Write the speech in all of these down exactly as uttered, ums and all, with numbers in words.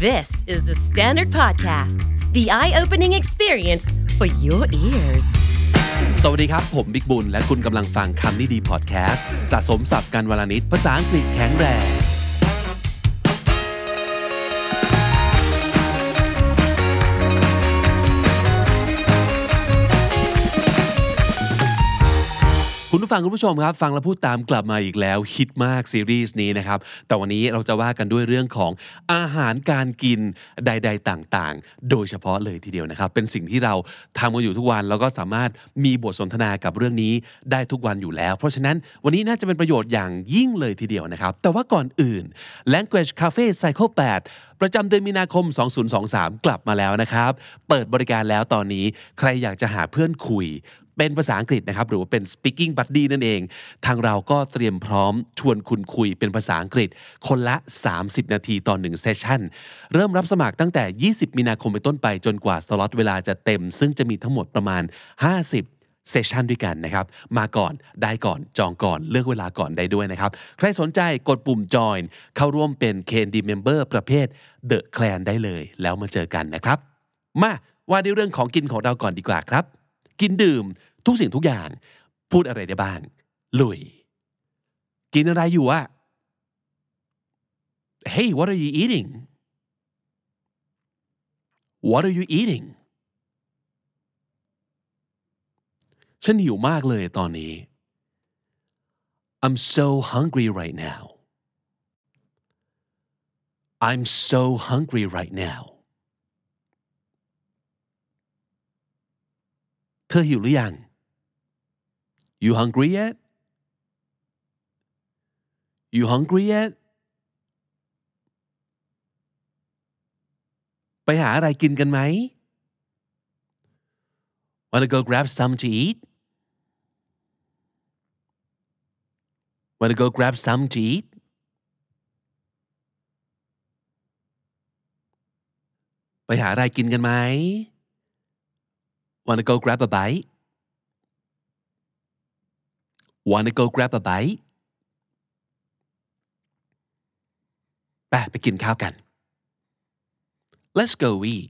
This is the Standard Podcast, the eye-opening experience for your ears. สวัสดีครับผมบิ๊กบุญและคุณกำลังฟังคำนี้ดีพอดแคสต์สะสมศัพท์กันวลนิดภาษาอังกฤษแข็งแรงคุณผู้ฟังคุณผู้ชมครับฟังแล้วพูดตามกลับมาอีกแล้วฮิตมากซีรีส์นี้นะครับแต่วันนี้เราจะว่ากันด้วยเรื่องของอาหารการกินใดๆต่างๆโดยเฉพาะเลยทีเดียวนะครับเป็นสิ่งที่เราทำกันอยู่ทุกวันแล้วก็สามารถมีบทสนทนากับเรื่องนี้ได้ทุกวันอยู่แล้วเพราะฉะนั้นวันนี้น่าจะเป็นประโยชน์อย่างยิ่งเลยทีเดียวนะครับแต่ว่าก่อนอื่น Language Cafe Cycle แปดประจำเดือนมีนาคมสองพันยี่สิบสามกลับมาแล้วนะครับเปิดบริการแล้วตอนนี้ใครอยากจะหาเพื่อนคุยเป็นภาษาอังกฤษนะครับหรือว่าเป็น speaking buddy นั่นเองทางเราก็เตรียมพร้อมชวนคุณคุยเป็นภาษาอังกฤษคนละสามสิบนาทีต่อหนึ่งเซสชั่นเริ่มรับสมัครตั้งแต่ยี่สิบมีนาคมเป็นต้นไปจนกว่าสล็อตเวลาจะเต็มซึ่งจะมีทั้งหมดประมาณห้าสิบเซสชันด้วยกันนะครับมาก่อนได้ก่อนจองก่อนเลือกเวลาก่อนได้ด้วยนะครับใครสนใจกดปุ่ม join เข้าร่วมเป็น เค เอ็น ดี member ประเภท The Clan ได้เลยแล้วมาเจอกันนะครับมาว่าด้วยเรื่องของกินของเราก่อนดีกว่าครับกินดื่มทุกสิ่งทุกอย่างพูดอะไรได้บ้างลุยกินอะไรอยู่อะ Hey what are you eating What are you eating ฉันหิวมากเลยตอนนี้ I'm so hungry right now I'm so hungry right now เธอหิวหรือยังYou hungry yet? You hungry yet? ไปหาอะไรกินกันไหม Wanna go grab some to eat? Wanna go grab some to eat? ไปหาอะไรกินกันไหม Wanna go grab a bite?Wanna go grab a bite? ไปไปกินข้าวกัน Let's go eat.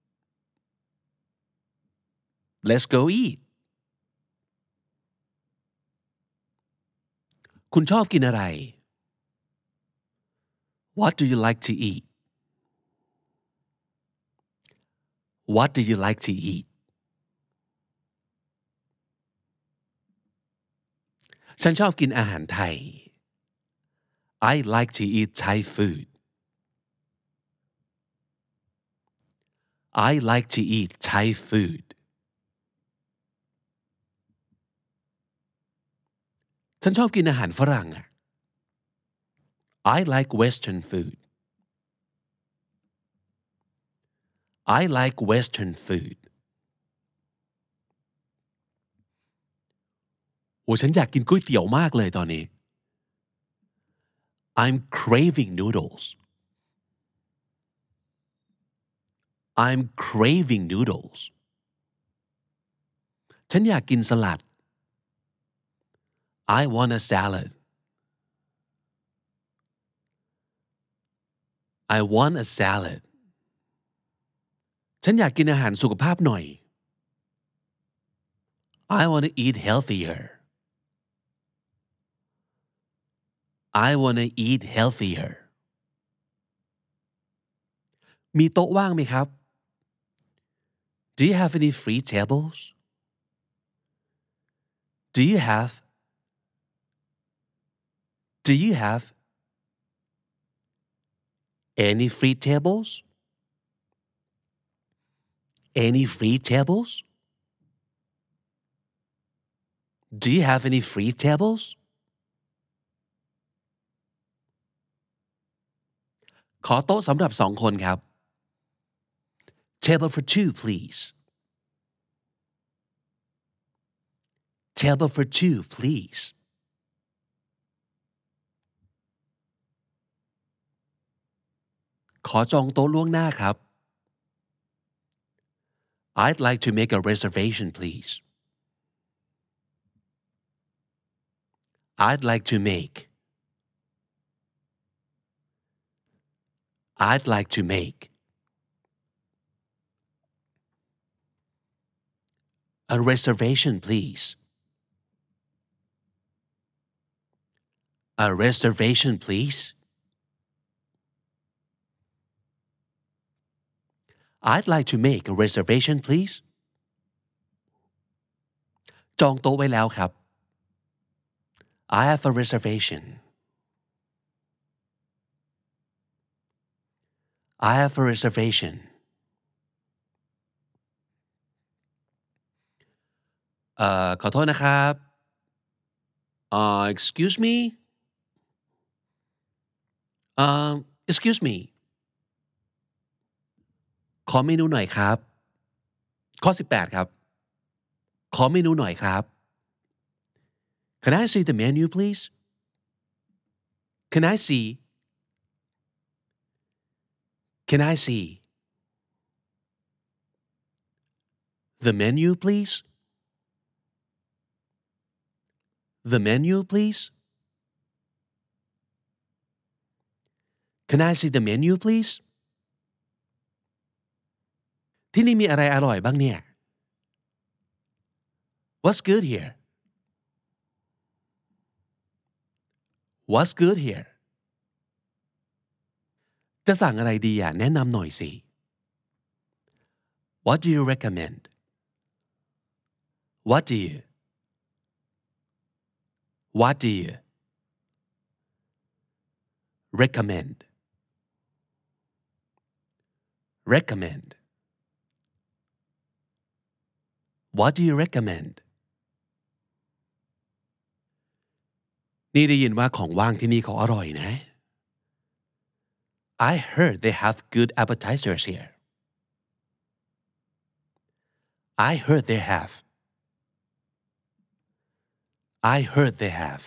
Let's go eat. คุณชอบกินอะไร What do you like to eat? What do you like to eat?ฉันชอบกินอาหารไทย I like to eat Thai food. I like to eat Thai food. ฉันชอบกินอาหารฝรั่งอะ I like Western food. I like Western food.โอ้ฉันอยากกินก๋วยเตี๋ยวมากเลยตอนนี้ I'm craving noodles. I'm craving noodles. ฉันอยากกินสลัด I want a salad. I want a salad. ฉันอยากกินอาหารสุขภาพหน่อย I want to eat healthier.I want to eat healthier. มีโต๊ะว่างไหมครับ Do you have any free tables? Do you have Do you have any free tables? Any free tables? Do you have any free tables?ขอโต๊ะสำหรับสองคนครับ Table for two please Table for two please ขอจองโต๊ะล่วงหน้าครับ I'd like to make a reservation please I'd like to make I'd like to make a reservation please a reservation please I'd like to make a reservation please จองโต๊ะไว้แล้วครับ I have a reservation I have a reservation เอ่อขอโทษนะครับเอ่อ excuse me เอ่อ excuse me ขอเมนูหน่อยครับข้อสิบแปดครับขอเมนูหน่อยครับ Can I see the menu please Can I see Can I see the menu please The menu please Can I see the menu please ที่นี่มีอะไรอร่อยบ้างเนี่ย What's good here What's good here จะสั่งอะไรดีอ่ะแนะนำหน่อยสิ What do you recommend What do you What do you recommend recommend What do you recommend นี่ได้ยินว่าของว่างที่นี่เขาอร่อยนะ I heard they have good appetizers here I heard they have I heard they have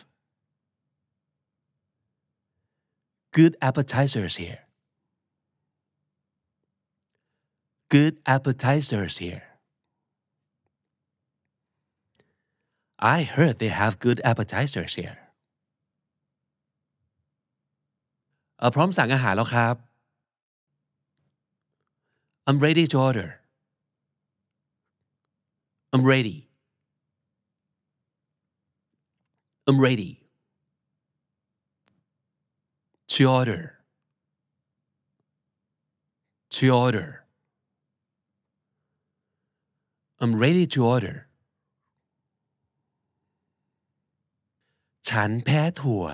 good appetizers here good appetizers here I heard they have good appetizers here เอ่อพร้อมสั่งอาหารแล้วครับ I'm ready to order I'm ready I'm ready to order to order I'm ready to order ฉันแพ้ถั่ว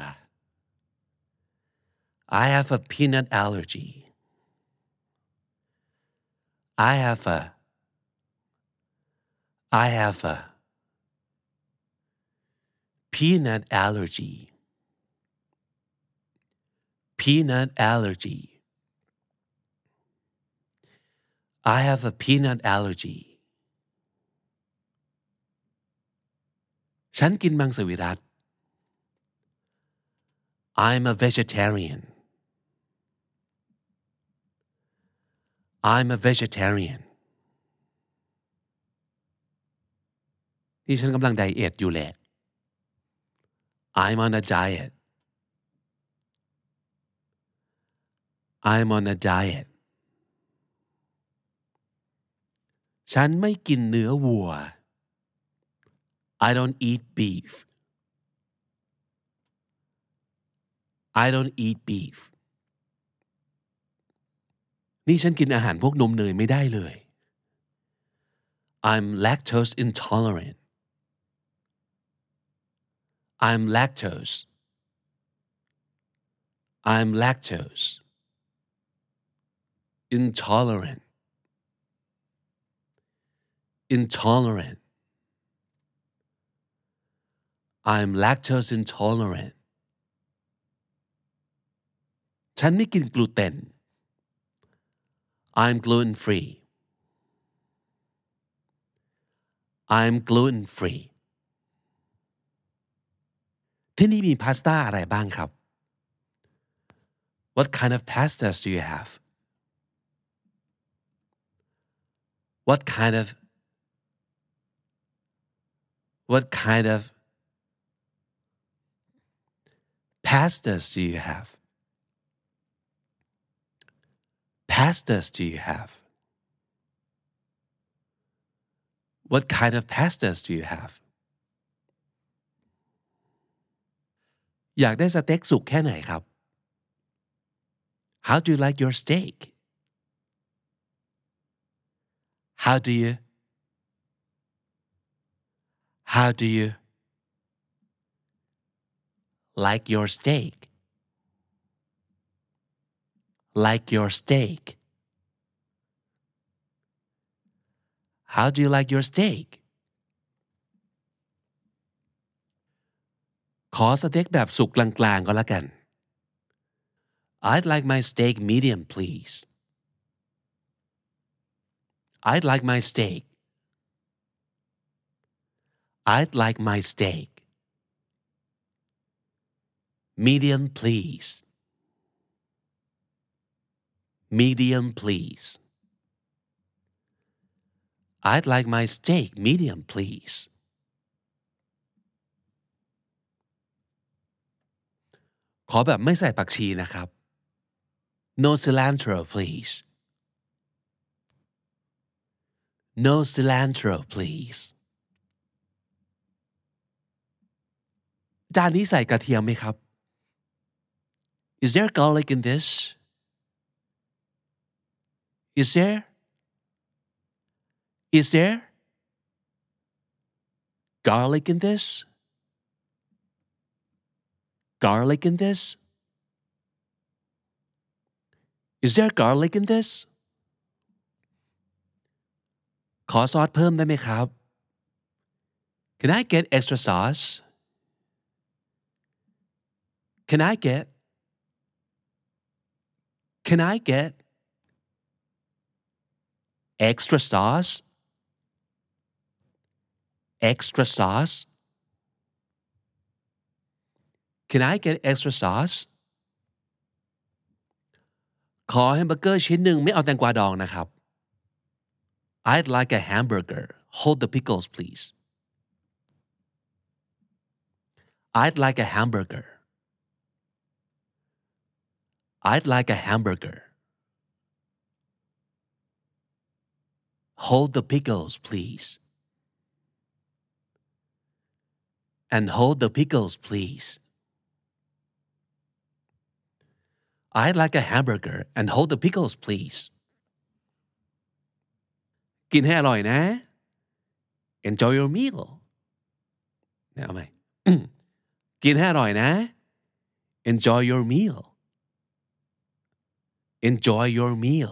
I have a peanut allergy I have a I have a peanut allergy peanut allergy I have a peanut allergy ฉันกินมังสวิรัติ I'm a vegetarian I'm a vegetarian นี่ฉันกำลังไดเอทอยู่แหละ I'm on a diet I'm on a diet ฉันไม่กินเนื้อวัว I don't eat beef I don't eat beef นี่ฉันกินอาหารพวกนมเนยไม่ได้เลย I'm lactose intolerant I'm lactose I'm lactose intolerant intolerant I'm lactose intolerant ฉันไม่กินกลูเตน I'm gluten free I'm gluten free ที่นี่มีพาสต้าอะไรบ้างครับ What kind of pastas do you have What kind of What kind of pastas do you have pastas do you have What kind of pastas do you have อยากได้สเต็กสุกแค่ไหนครับ How do you like your steak How do you How do you like your steak like your steak How do you like your steak ขอสเต็กแบบสุกกลางๆก็แล้วกัน I'd like my steak medium please I'd like my steak I'd like my steak medium please medium please I'd like my steak medium please ขอแบบไม่ใส่ผักชีนะครับ No cilantro please No cilantro please จานนี้ใส่กระเทียมไหมครับ Is there garlic in this Is there Is there garlic in this Garlic in this Is there garlic in this ขอซอสเพิ่มได้ไหมครับ Can I get extra sauce Can I get Can I get extra sauce extra sauce Can I get extra sauce ขอแฮมเบอร์เกอร์ชิ้นหนึ่งไม่เอาแตงกวาดองนะครับ I'd like a hamburger hold the pickles please I'd like a hamburger I'd like a hamburger hold the pickles please and hold the pickles please I'd like a hamburger and hold the pickles please กินให้อร่อยนะ Enjoy your meal เนี่ยเอาไหม กินให้อร่อยนะ Enjoy your meal Enjoy your meal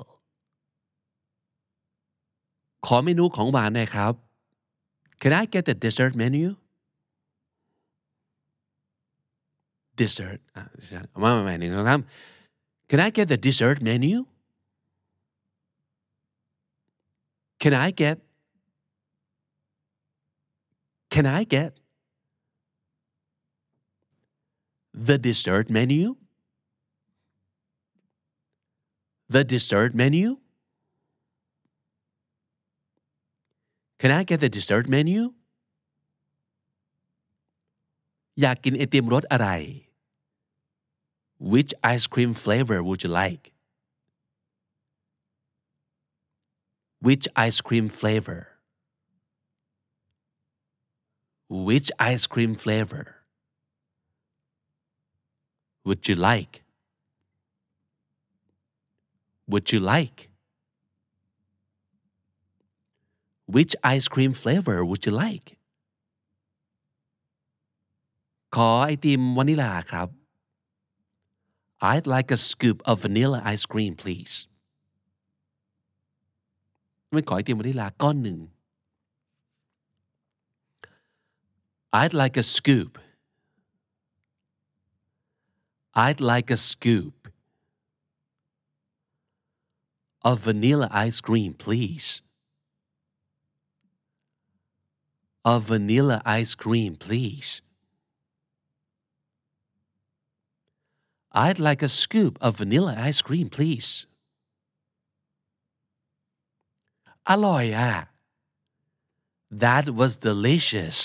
ขอเมนูของหวานหน่อยครับ Can I get the dessert menu dessert อ่ะเอามาใหม่ๆหนึ่งนะครับ Can I get the dessert menu Can I get Can I get the dessert menu The dessert menu Can I get the dessert menu อยากกินไอติมรสอะไร Which ice cream flavor would you like Which ice cream flavor Which ice cream flavor would you like Would you like Which ice cream flavor would you like ขอไอติมวานิลาครับ I'd like a scoop of vanilla ice cream please ไม่ขอไอติมวานิลาก้อนหนึ่ง I'd like a scoop I'd like a scoop of vanilla ice cream please of vanilla ice cream please I'd like a scoop of vanilla ice cream please อร่อยอ่ะ That was delicious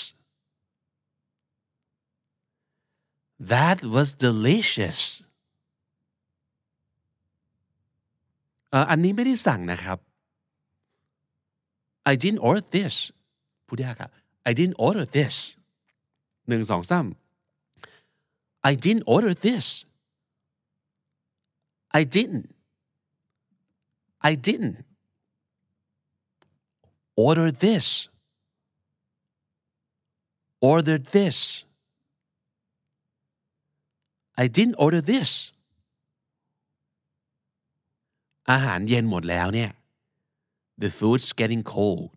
That was delicious เอ่ออันนี้ไม่ได้สั่งนะครับ I didn't order this พูดยากอะ I didn't order this หนึ่งสองสาม I didn't order this I didn't I didn't order this order this I didn't order this อาหารเย็นหมดแล้วเนี่ย The food's getting cold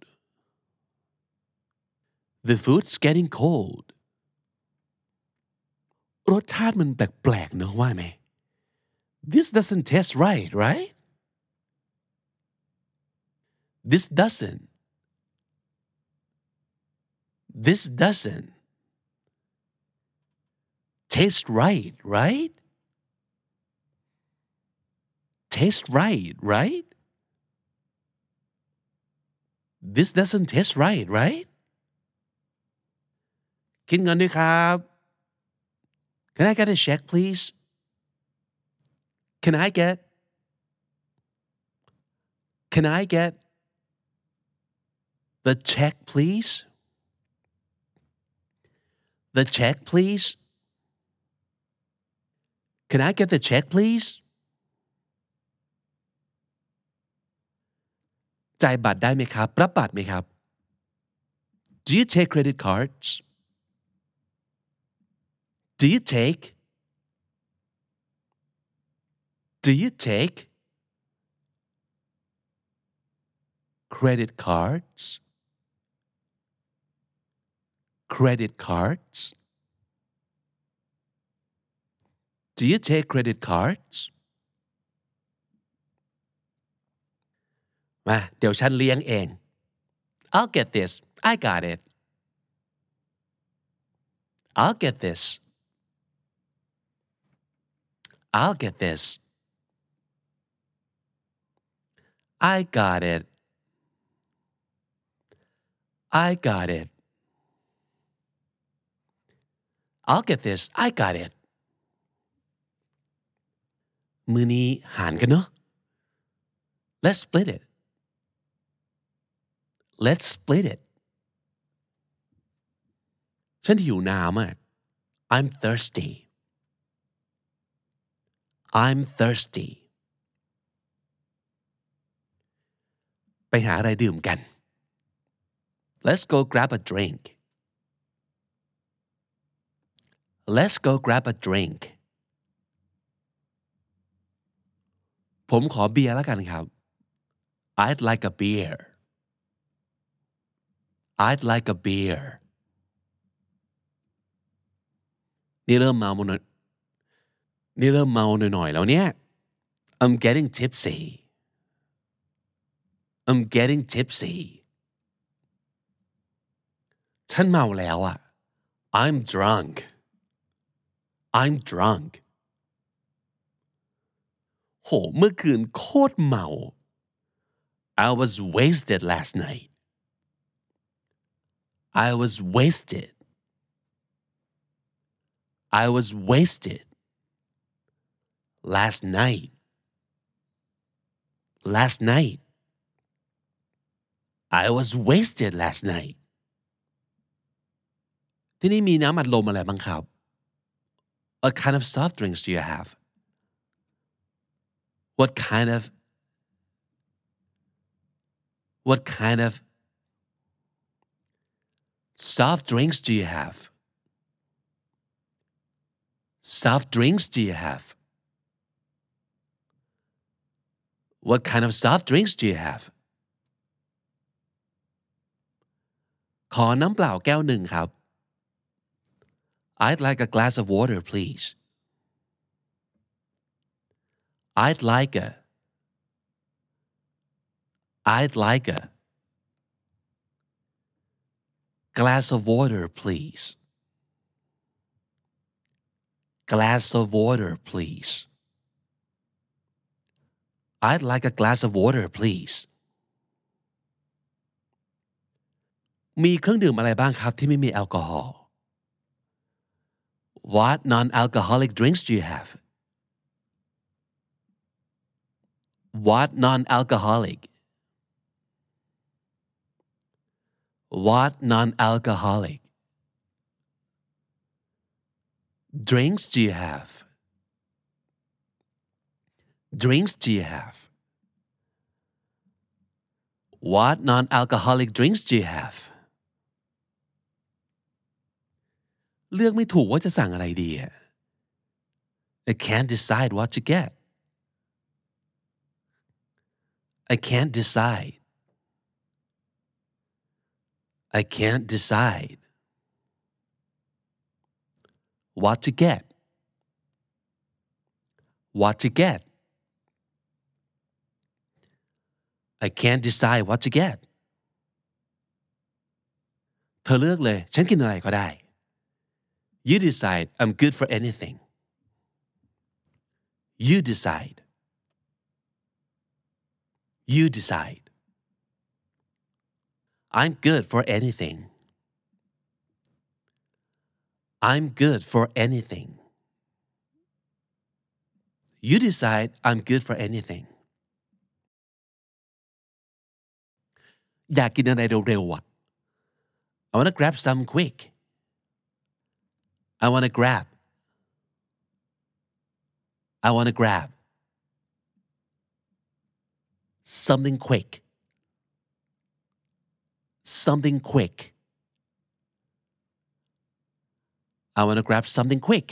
The food's getting cold รสชาติมันแปลกๆเนอะว่าไหม This doesn't taste right right This doesn't This doesn't taste right right taste right right This doesn't taste right right คิดเงินด้วยครับ Can I get a check please Can I get Can I get the check please The check please Can I get the check please จ่ายบัตรได้ไหมครับรับบัตรไหมครับ Do you take credit cards Do you take Do you take credit cards credit cards Do you take credit cards มาเดี๋ยวฉันเลี้ยงเอง I'll get this I got it I'll get this I'll get this I got it I got it I'll get this I got it มื้อนี้หารกันเนอะ Let's split it Let's split it ฉันหิวน้ำอ่ะ I'm thirsty I'm thirsty ไปหาอะไรดื่มกัน Let's go grab a drink Let's go grab a drink ผมขอเบียร์แล้วกันครับ I'd like a beer I'd like a beer นี่เริ่มเมาหน่อยนี่เริ่มเมาหน่อยๆแล้วเนี่ย I'm getting tipsy I'm getting tipsy ฉันเมาแล้วอ่ะ I'm drunk I'm drunk โหเมื่อคืนโคตรเมา I was wasted last night I was wasted I was wasted last night last night I was wasted last night ที่นี่มีน้ำอัดลมอะไรบ้างครับ What kind of soft drinks do you have What kind of What kind of soft drinks do you have Soft drinks do you have What kind of soft drinks do you have ขอน้ำเปล่าแก้วหนึ่งครับ I'd like a glass of water please I'd like a I'd like a glass of water please glass of water please I'd like a glass of water please มีเครื่องดื่มอะไรบ้างครับที่ไม่มีแอลกอฮอล์ What non-alcoholic drinks do you have what non-alcoholic what non-alcoholic drinks do you have drinks do you have what non-alcoholic drinks do you have เลือกไม่ถูกว่าจะสั่งอะไรดี I can't decide what to get I can't decide I can't decide what to get what to get I can't decide what to get เธอเลือกเลยฉันกินอะไรก็ได้ You decide I'm good for anything You decide You decide I'm good for anything I'm good for anything You decide I'm good for anything อยากกินอะไรเร็วๆอ่ะ I want to grab some quick I want to grab I want to grab something quick something quick I want to grab something quick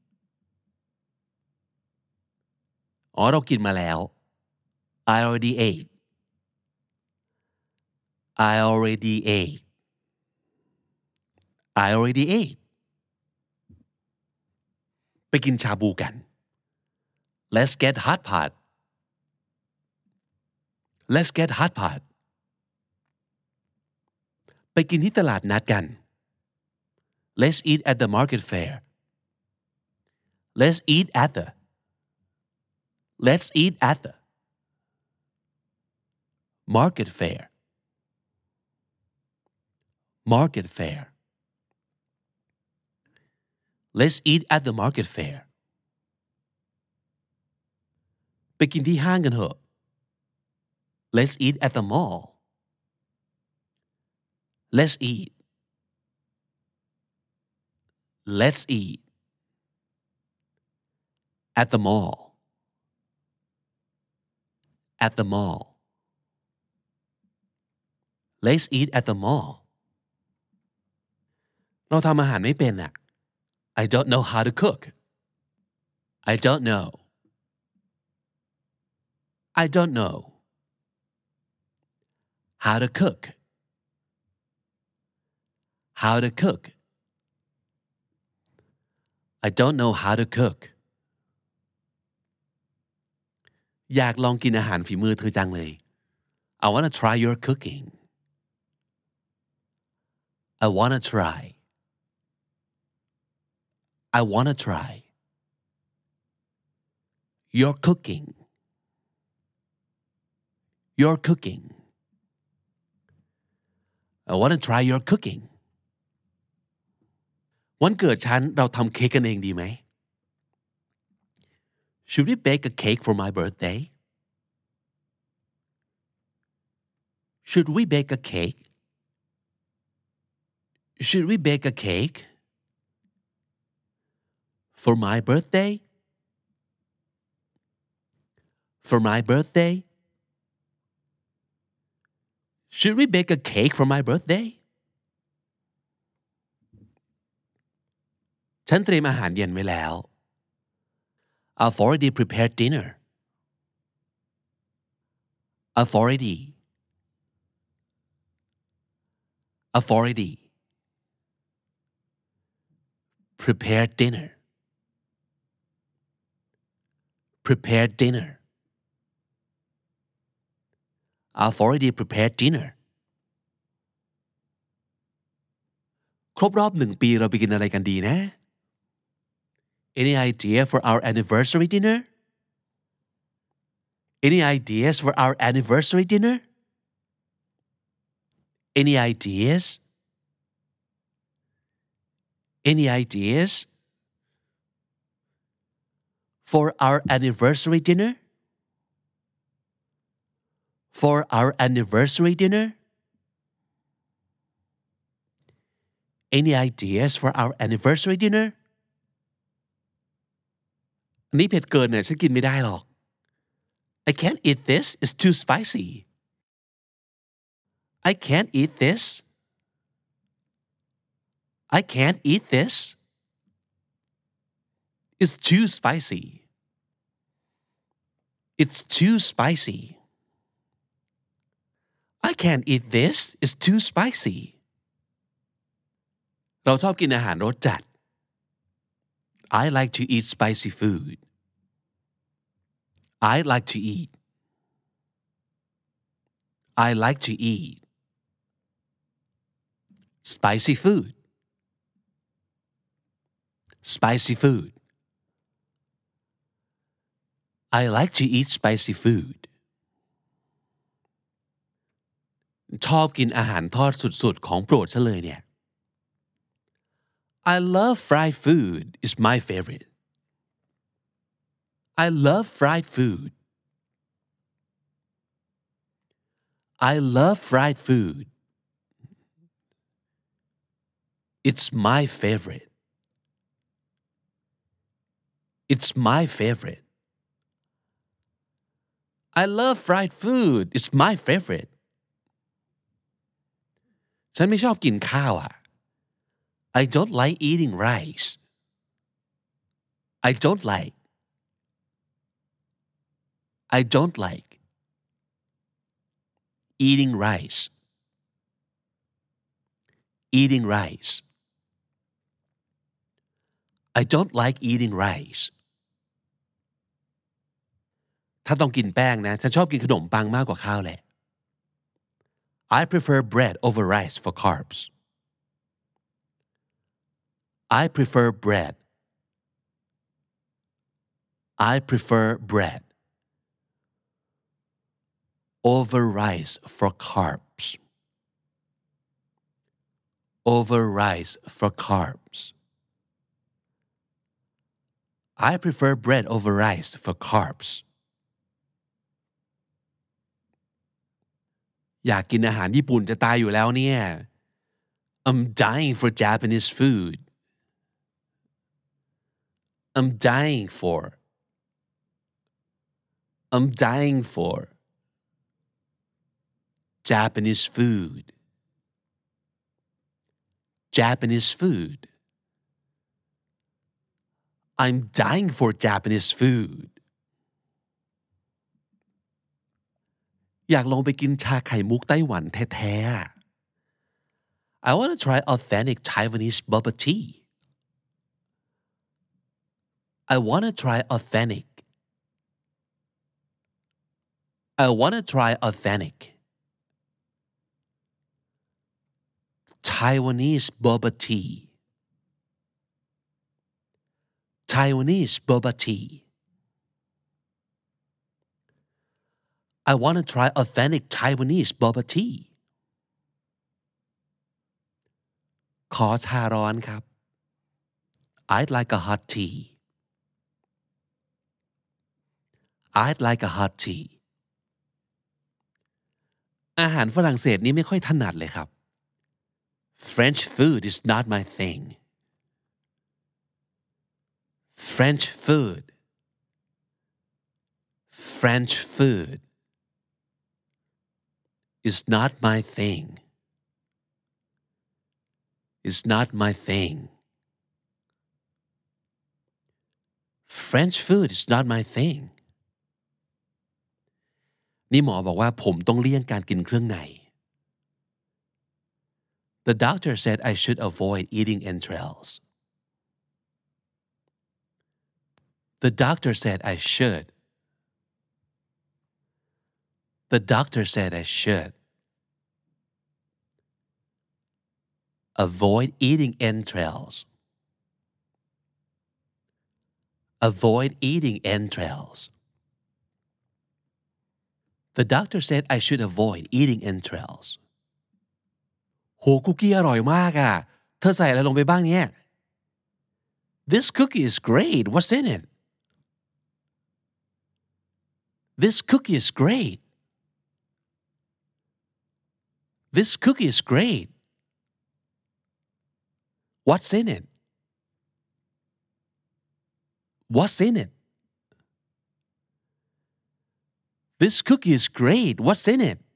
อ๋อเรากินมาแล้ว I already ate I already ate I already ate ไปกินชาบูกัน Let's get hot pot Let's get hot pot ไปกินที่ตลาดนัดกัน Let's eat at the market fair Let's eat at the Let's eat at the market fair market fair Let's eat at the market fair ไปกินที่ห้างกันเถอะ Let's eat at the mall Let's eat Let's eat at the mall at the mall Let's eat at the mall เราทำอาหารไม่เป็นอ่ะ I don't know how to cook I don't know I don't know how to cook how to cook I don't know how to cook อยากลองกินอาหารฝีมือเธอจังเลย I want to try your cooking I want to try I want to try your cooking your cooking I want to try your cooking วันเกิดฉันเราทำเค้กกันเองดีไหม Should we bake a cake for my birthday Should we bake a cake Should we bake a cake for my birthday for my birthday Should we bake a cake for my birthday ฉันเตรียมอาหารเย็นไว้แล้ว I've already prepared dinner I've already I've already prepared dinner prepared dinner I've already prepared dinner ครบรอบหนึ่งปีเราไปกินอะไรกันดีนะ Any idea for our anniversary dinner Any ideas for our anniversary dinner Any ideas Any ideas for our anniversary dinner for our anniversary dinner Any ideas for our anniversary dinner อันนี้เผ็ดเกินเนี่ยฉันกินไม่ได้หรอก I can't eat this it's too spicy I can't eat this I can't eat this It's too spicy It's too spicy I can't eat this it's too spicy เราชอบกินอาหารรสจัด I like to eat spicy food I like to eat I like to eat spicy food spicy food I like to eat spicy food ชอบกินอาหารทอดสุดๆของโปรดฉันเลยเนี่ย I love fried food it's my favorite I love fried food I love fried food It's my favorite It's my favorite I love fried food it's my favorite ฉันไม่ชอบกินข้าวอ่ะ I don't like eating rice I don't like I don't like eating rice eating rice I don't like eating rice ถ้าต้องกินแป้งนะฉันชอบกินขนมปังมากกว่าข้าวแหละ I prefer bread over rice for carbs I prefer bread I prefer bread over rice for carbs over rice for carbs I prefer bread over rice for carbs อยากกินอาหารญี่ปุ่นจะตายอยู่แล้วเนี่ย I'm dying for Japanese food I'm dying for I'm dying for Japanese food Japanese food I'm dying for Japanese food อยากลองไปกินชาไข่มุกไต้หวันแท้ๆ I want to try authentic Taiwanese bubble tea I want to try authentic I want to try authentic Taiwanese boba tea Taiwanese boba tea I want to try authentic Taiwanese boba tea ขอชาร้อนครับ I'd like a hot tea I'd like a hot tea อาหารฝรั่งเศสนี่ไม่ค่อยถนัดเลยครับ French food is not my thing French food French food is not my thing is not my thing French food is not my thing นี่หมอบอกว่าผมต้องเลี่ยงการกินเครื่องใน The doctor said I should avoid eating entrails The doctor said I should The doctor said I should avoid eating entrails avoid eating entrails The doctor said I should avoid eating entrails โหคุกกี้อร่อยมากอ่ะเธอใส่อะไรลงไปบ้างเนี่ย This cookie is great what's in it This cookie is great This cookie is great. What's in it? What's in it? This cookie is great. What's in it?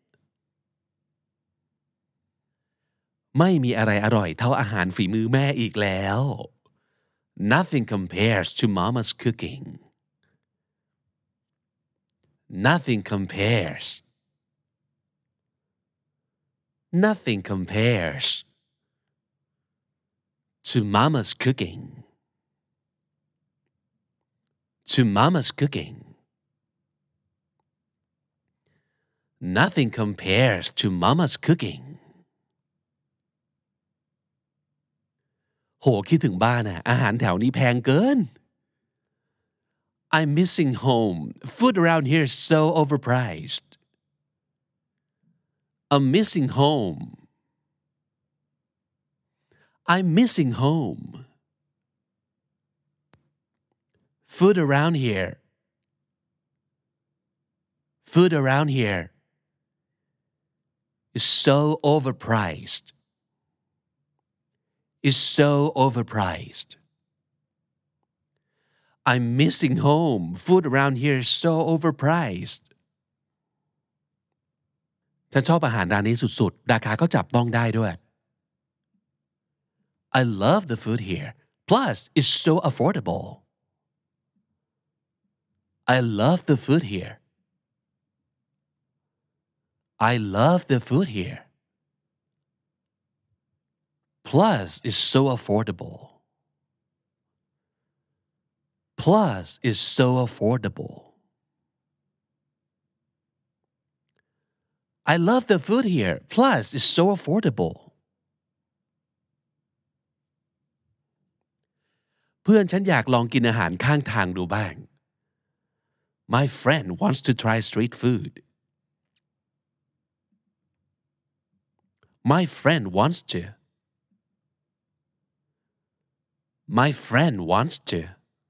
ไม่มีอะไรอร่อยเท่าอาหารฝีมือแม่อีกแล้ว Nothing compares to mama's cooking. Nothing compares. Nothing compares to mama's cooking. To mama's cooking. Nothing compares to mama's cooking. โหคิดถึงบ้านอะอาหารแถวนี้แพงเกิน I'm missing home. Food around here is so overpriced. I'm missing home. I'm missing home. Food around here. Food around here is so overpriced. Is so overpriced. I'm missing home. Food around here is so overpriced. ฉันชอบอาหารร้านนี้สุดๆราคาก็จับต้องได้ด้วย I love the food here. Plus, it's so affordable. I love the food here. I love the food here. Plus, it's so affordable. Plus, it's so affordable. I love the food here. Plus, it's so affordable. เพื่อนฉันอยากลองกินอาหารข้างทางดูบ้าง My friend wants to try street food. My friend wants to. My friend wants to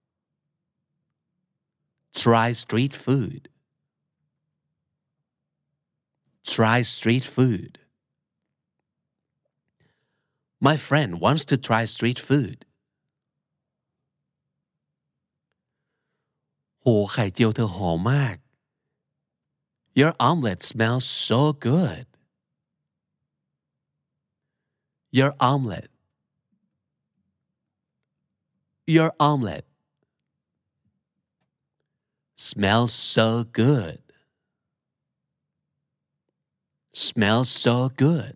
try street food. Try street food. My friend wants to try street food. โหไข่เจียวเธอหอมมาก Your omelet smells so good. Your omelet. Your omelet smells so good. Smells so good.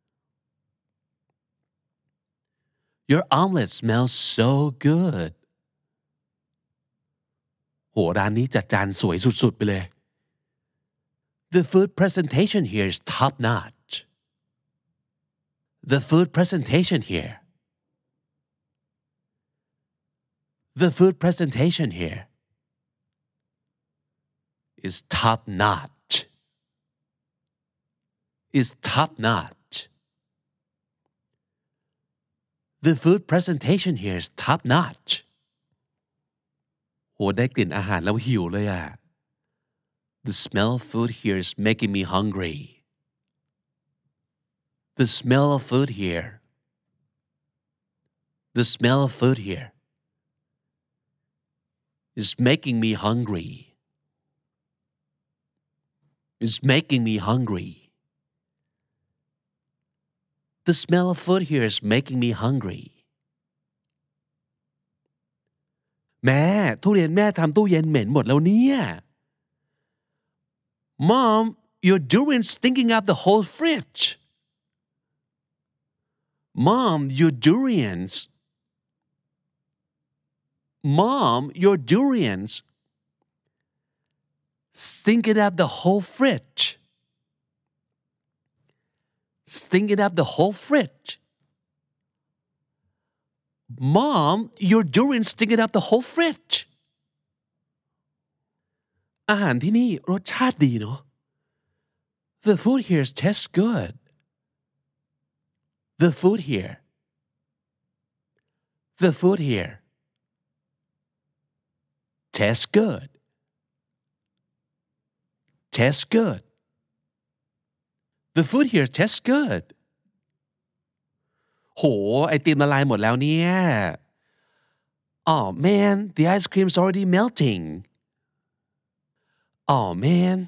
Your omelet smells so good. โหร้านนี้จัดจานสวยสุดๆไปเลย The food presentation here is top notch. The food presentation here. The food presentation here is top notch. Is top notch. The food presentation here is top notch. โหได้กลิ่นอาหารแล้วหิวเลยอ่ะ The smell of food here is making me hungry. The smell of food here. The smell of food here is making me hungry. Is making me hungry. The smell of food here is making me hungry. แม่ทุเรียนแม่ทำตู้เย็นเหม็นหมดแล้วเนี่ย Mom, your durian's stinking up the whole fridge. Mom, your durians. Mom, your durians stinking up the whole fridge. Stinking up the whole fridge. Mom, your durians stinking up the whole fridge. อาหารที่นี่รสชาติดีเนาะ The food here tastes good. The food here. The food here tastes good. Tastes good. The food here tastes good โหไอติมละลายหมดแล้วเนี่ย Oh man the ice cream's already melting Oh man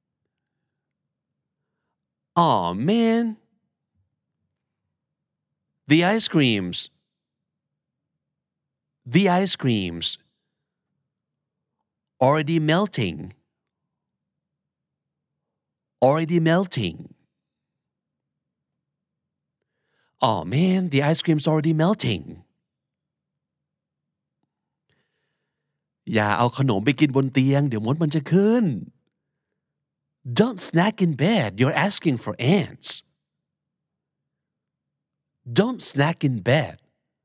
Oh man The ice creams The ice creams already melting already melting Oh man the ice cream's already melting อย่าเอาขนมไปกินบนเตียงเดี๋ยวมดมันจะขึ้น Don't snack in bed you're asking for ants Don't snack in bed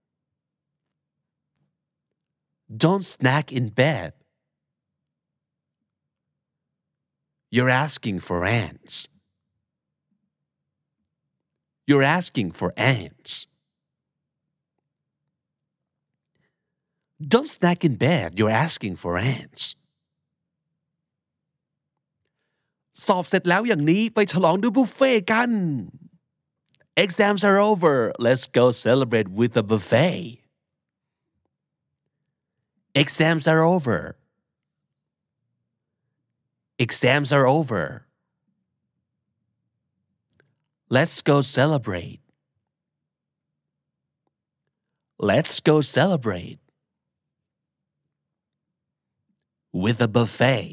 Don't snack in bed You're asking for ants You're asking for ants Don't snack in bed you're asking for ants สอบเสร็จแล้วอย่างนี้ไปฉลองด้วยบุฟเฟ่กัน Exams are over let's go celebrate with a buffet Exams are over Exams are over Let's go celebrate Let's go celebrate with a buffet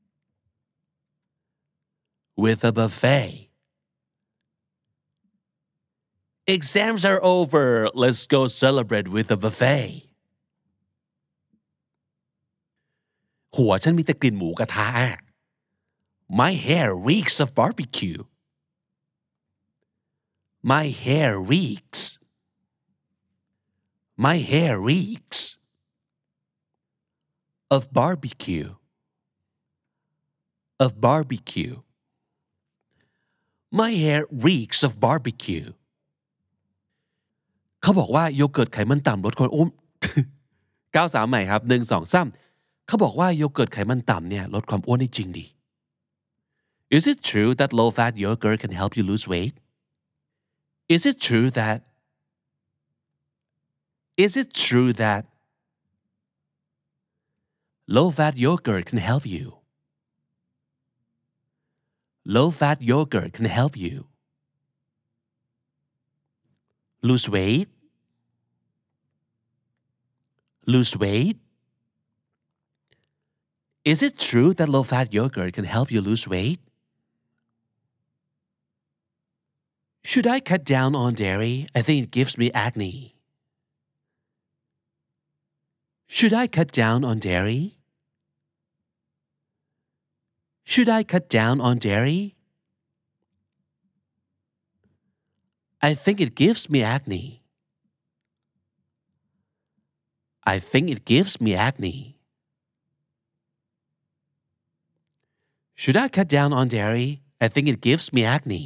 with a buffet Exams are over let's go celebrate with a buffet หัวฉันมีแต่กลิ่นหมูกระทะ My hair reeks of barbecue My hair reeks My hair reeks of barbecue of barbecue My hair reeks of barbecue เขาบอกว่าโยเกิร์ตไขมันต่ำลดความอ้วน เก้าสามใหม่ครับหนึ่งสองสามเขาบอกว่าโยเกิร์ตไขมันต่ำเนี่ยลดความอ้วนได้จริงดิ Is it true that low-fat yogurt can help you lose weight? Is it true that Is it true that low-fat yogurt can help you? Low-fat yogurt can help you lose weight? Lose weight? Is it true that low-fat yogurt can help you lose weight? Should I cut down on dairy? I think it gives me acne. Should I cut down on dairy? Should I cut down on dairy? I think it gives me acne. I think it gives me acne. Should I cut down on dairy? I think it gives me acne.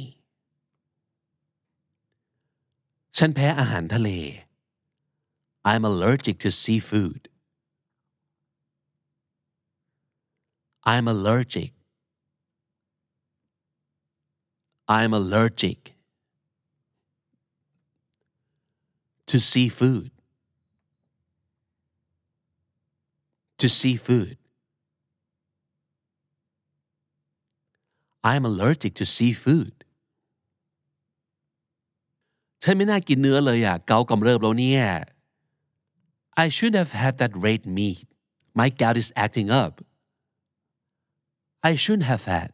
ฉันแพ้อาหารทะเล I'm allergic to seafood. I'm allergic. I'm allergic to seafood. To seafood. I'm allergic to seafood. ฉันไม่น่ากินเนื้อเลยอ่ะเกากำเริบแล้วเนี่ย I shouldn't have had that red meat. My gout is acting up. I shouldn't have had.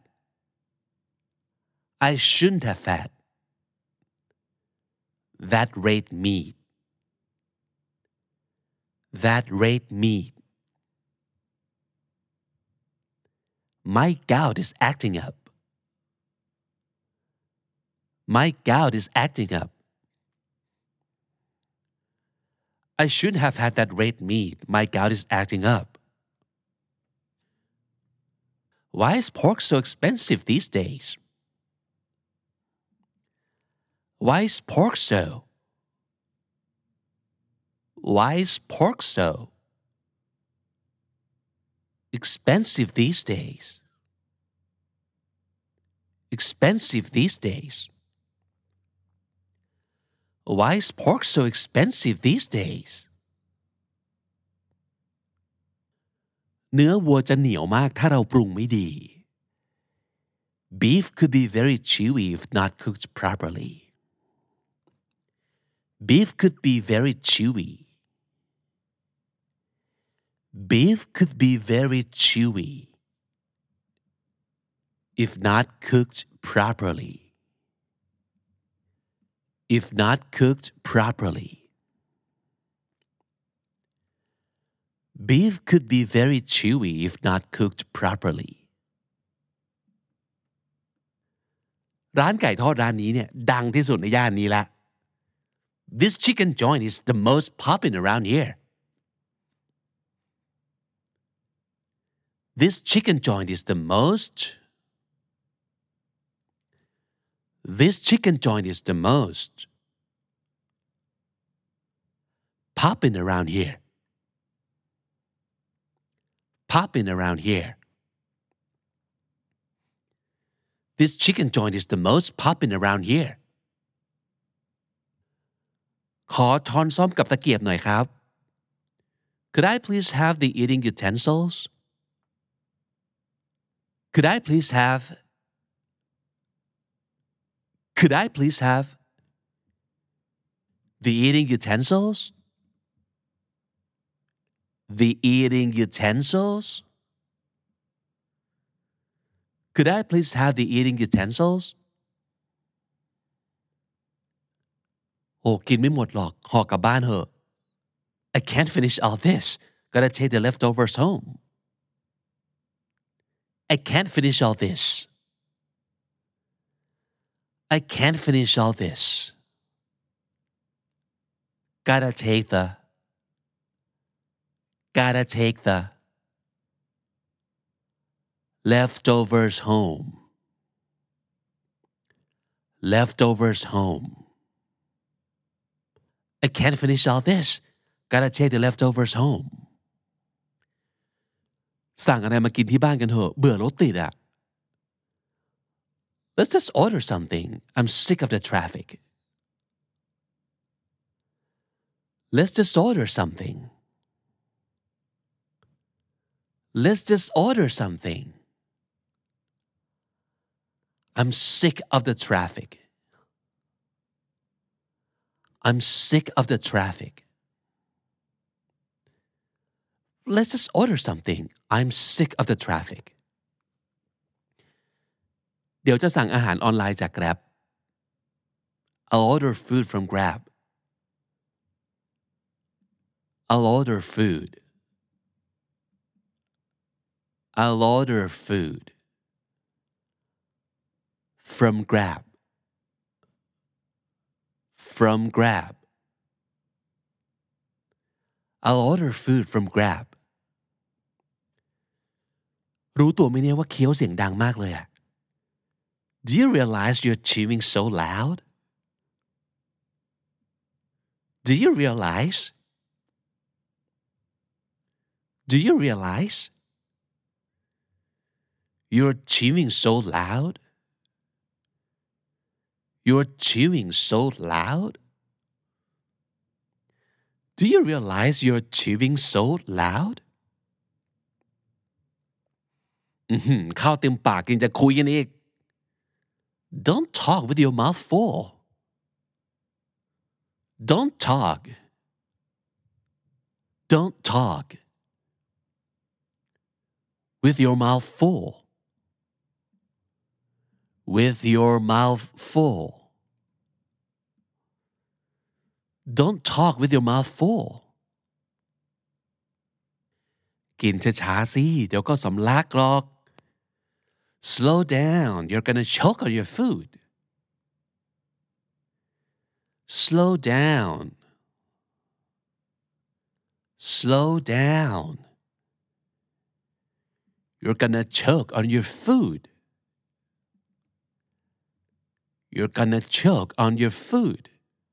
I shouldn't have had that red meat. That red meat. My gout is acting up. My gout is acting up. I shouldn't have had that red meat. My gout is acting up. Why is pork so expensive these days? Why is pork so? Why is pork so expensive these days? Expensive expensive these days Why is pork so expensive these days เนื้อวัวจะเหนียวมากถ้าเราปรุงไม่ดี Beef could be very chewy if not cooked properly Beef could be very chewy Beef could be very chewy if not cooked properly if not cooked properly Beef could be very chewy if not cooked properly ร้านไก่ทอดร้านนี้เนี่ยดังที่สุดในย่านนี้ละ This chicken joint is the most poppin' around here This chicken joint is the most This chicken joint is the most poppin' around here poppin' around here This chicken joint is the most poppin' around here ขอช้อนส้อมกับตะเกียบหน่อยครับ Could I please have the eating utensils Could I please have Could I please have the eating utensils The eating utensils Could I please have the eating utensils โอ้กินไม่หมดหรอกห่อกลับบ้านเถอะ I can't finish all this gotta take the leftovers home I can't finish all this I can't finish all this gotta take the gotta take the leftovers home leftovers home I can't finish all this gotta take the leftovers home สั่งอะไรมากินที่บ้านกันเถอะเบื่อรถติดอะ Let's just order something I'm sick of the traffic Let's just order something Let's just order something I'm sick of the traffic I'm sick of the traffic Let's just order something I'm sick of the traffic เดี๋ยวจะสั่งอาหารออนไลน์จาก Grab I'll order food from Grab I'll order food I'll order food from Grab from Grab I'll order food from Grab รู้ตัวไหมเนี่ยว่าเคี้ยวเสียงดังมากเลยอะ Do you realize you're chewing so loud? Do you realize? Do you realize? You're chewing so loud? You're chewing so loud? Do you realize you're chewing so loud? อือหือข้าวเต็มปากยังจะคุยกันอีก Don't talk with your mouth full. Don't talk. Don't talk with your mouth full. With your mouth full. Don't talk with your mouth full. กินช้าๆสิเดี๋ยวก็สำลักหรอก Slow down, you're gonna choke on your food. Slow down. Slow down. You're gonna choke on your food. You're gonna choke on your food.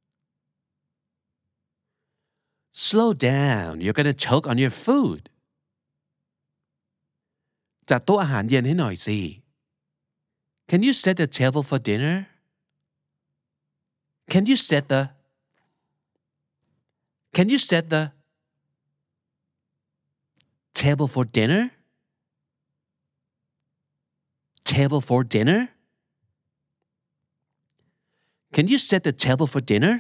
Slow down, you're gonna choke on your food. จัดโต๊ะอาหารเย็นให้หน่อยสิ Can you set the table for dinner? Can you set the Can you set the table for dinner? Table for dinner? Can you set the table for dinner?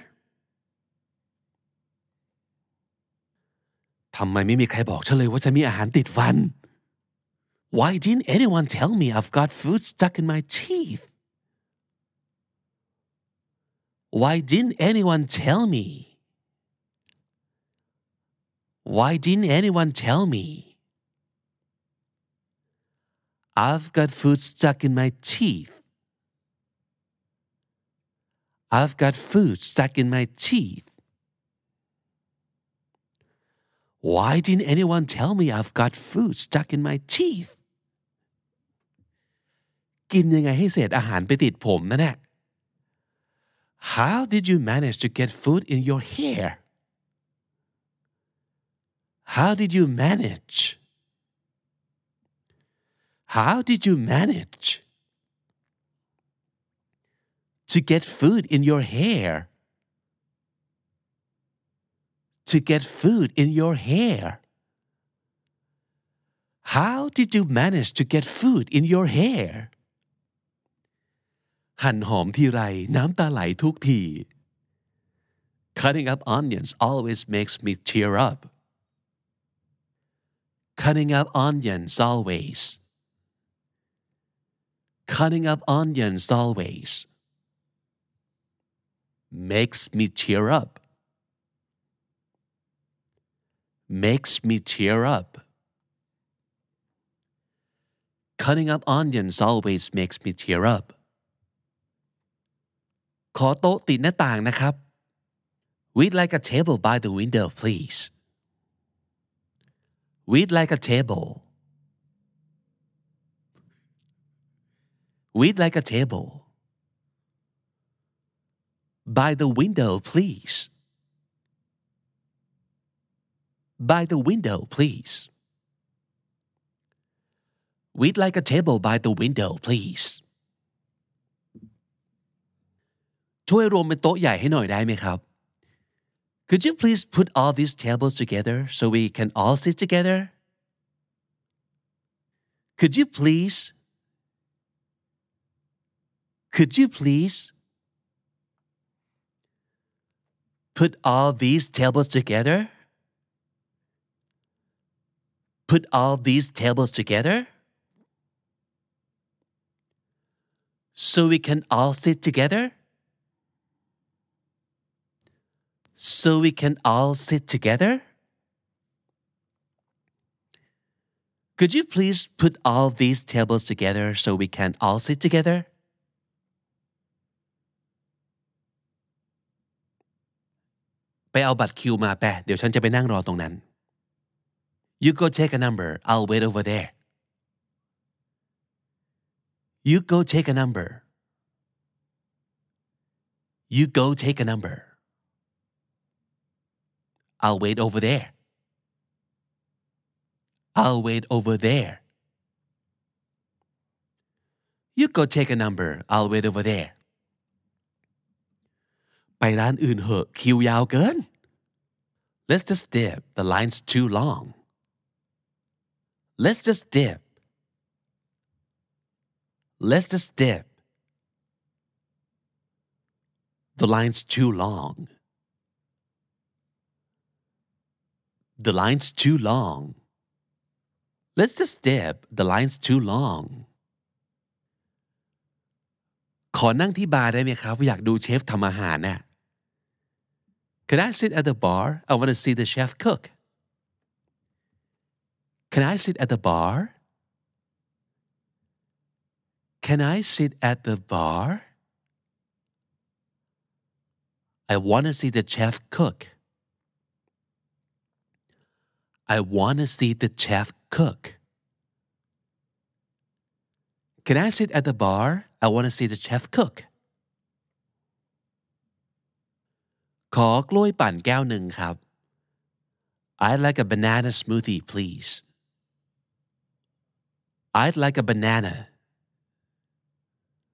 ทำไมไม่มีใครบอกฉันเลยว่าฉันมีอาหารติดฟัน Why didn't anyone tell me I've got food stuck in my teeth? Why didn't anyone tell me? Why didn't anyone tell me? I've got food stuck in my teeth. I've got food stuck in my teeth. Why didn't anyone tell me I've got food stuck in my teeth? กินยังไงให้เศษอาหารไปติดผมนั่นแหละ How did you manage to get food in your hair? How did you manage? How did you manage to get food in your hair? To get food in your hair. How did you manage to get food in your hair? หั่นหอมทีไรน้ำตาไหลทุกที Cutting up onions always makes me tear up. Cutting up onions always. Cutting up onions always makes me tear up. Makes me tear up. Cutting up onions always makes me tear up. ขอโต๊ะติดหน้าต่างนะครับ We'd like a table by the window, please. We'd like a table. We'd like a table by the window, please. By the window, please. We'd like a table by the window, please. ช่วยรวมเป็นโต๊ะใหญ่ให้หน่อยได้ไหมครับ Could you please put all these tables together so we can all sit together? Could you please? Could you please put all these tables together? Put all these tables together so we can all sit together? So we can all sit together? Could you please put all these tables together so we can all sit together? ไปเอาบัตรคิวมาแปะเดี๋ยวฉันจะไปนั่งรอตรงนั้น You go take a number. I'll wait over there. You go take a number. You go take a number. I'll wait over there. I'll wait over there. You go take a number. I'll wait over there. ไปร้านอื่นเหอะคิวยาวเกิน Let's just dip. The line's too long. Let's just dip. Let's just dip. The line's too long. The line's too long. Let's just dip. The line's too long. ขอนั่งที่บาร์ได้ไหมครับอยากดูเชฟทำอาหารน่ะ Can I sit at the bar? I want to see the chef cook. Can I sit at the bar? Can I sit at the bar? I want to see the chef cook. I want to see the chef cook. Can I sit at the bar? I want to see the chef cook. ขอกล้วยปั่นแก้วหนึ่งครับ I'd like a banana smoothie, please. I'd like a banana.